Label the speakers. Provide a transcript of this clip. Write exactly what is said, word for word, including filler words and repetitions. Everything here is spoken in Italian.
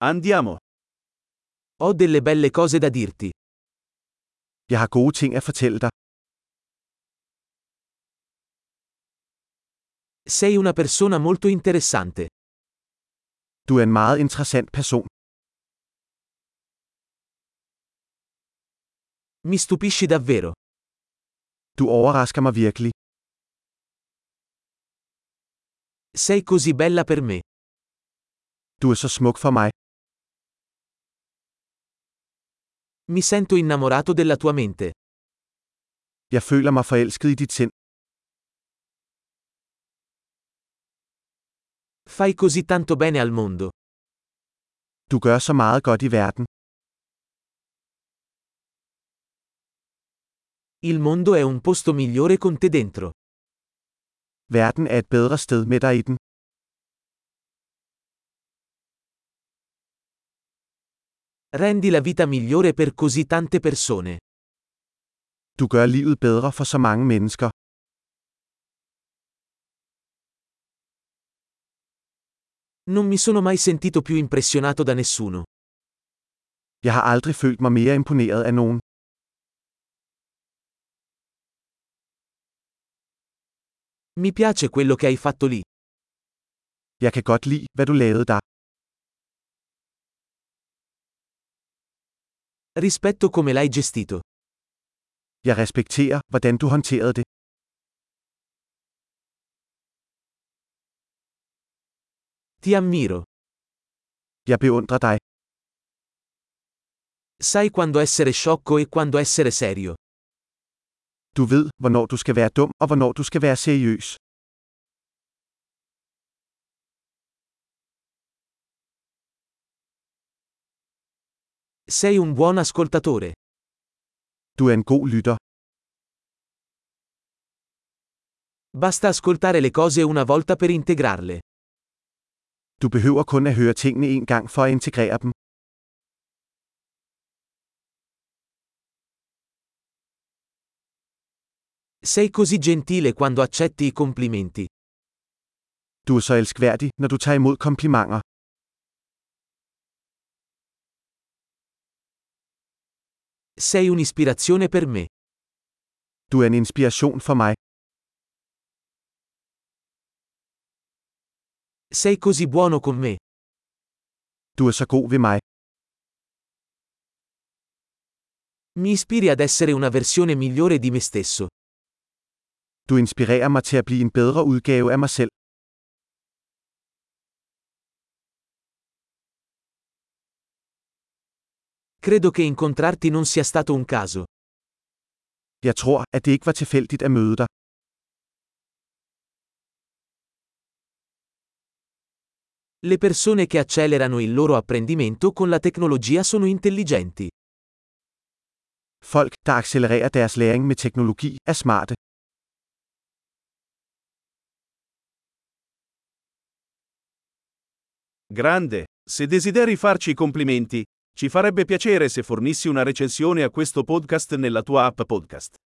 Speaker 1: Andiamo.
Speaker 2: Ho delle belle cose da dirti.
Speaker 3: Jeg har gode ting at fortælle dig.
Speaker 2: Sei una persona molto interessante.
Speaker 3: Du er en meget interessant person.
Speaker 2: Mi stupisci davvero.
Speaker 3: Du overrasker mig virkelig.
Speaker 2: Sei così bella per me.
Speaker 3: Du er så smuk for mig.
Speaker 2: Mi sento innamorato della tua mente.
Speaker 3: Jeg føler mig forelsket i dit sind.
Speaker 2: Fai così tanto bene al mondo.
Speaker 3: Du gør så meget godt i verden.
Speaker 2: Il mondo è un posto migliore con te dentro.
Speaker 3: Verden er et bedre sted med dig i den.
Speaker 2: Rendi la vita migliore per così tante persone.
Speaker 3: Du gør livet bedre for så mange mennesker.
Speaker 2: Non mi sono mai sentito più impressionato da nessuno.
Speaker 3: Jeg har aldrig følt mig mere imponeret af nogen.
Speaker 2: Mi piace quello che hai fatto lì.
Speaker 3: Jeg kan godt lide, hvad du lavede der.
Speaker 2: Rispetto come l'hai gestito.
Speaker 3: Jeg respekterer, hvordan du håndterede det.
Speaker 2: Ti ammiro.
Speaker 3: Jeg beundrer dig.
Speaker 2: Sai quando essere sciocco e quando essere serio.
Speaker 3: Du ved, hvornår du skal være dum, og hvornår du skal være seriøs.
Speaker 2: Sei un buon ascoltatore.
Speaker 3: Du er en god lytter.
Speaker 2: Basta ascoltare le cose una volta per integrarle.
Speaker 3: Du behøver kun at høre tingene en gang for at integrere dem.
Speaker 2: Sei così gentile quando accetti i complimenti.
Speaker 3: Du er så elskværdig, når du tager imod komplimenter.
Speaker 2: Sei un'ispirazione per me.
Speaker 3: Du er en inspiration for mig.
Speaker 2: Sei così buono con me.
Speaker 3: Du er så god ved mig.
Speaker 2: Mi ispiri ad essere una versione migliore di me stesso.
Speaker 3: Du inspirerer mig til at blive en bedre udgave af mig selv.
Speaker 2: Credo che incontrarti non sia stato un caso.
Speaker 3: Jeg tror, at det ikke var tilfældigt at møde dig.
Speaker 2: Le persone che accelerano il loro apprendimento con la tecnologia sono intelligenti.
Speaker 3: Folk, der accelererer deres læring med teknologi, er smarte.
Speaker 1: Grande. Se desideri farci i complimenti, ci farebbe piacere se fornissi una recensione a questo podcast nella tua app podcast.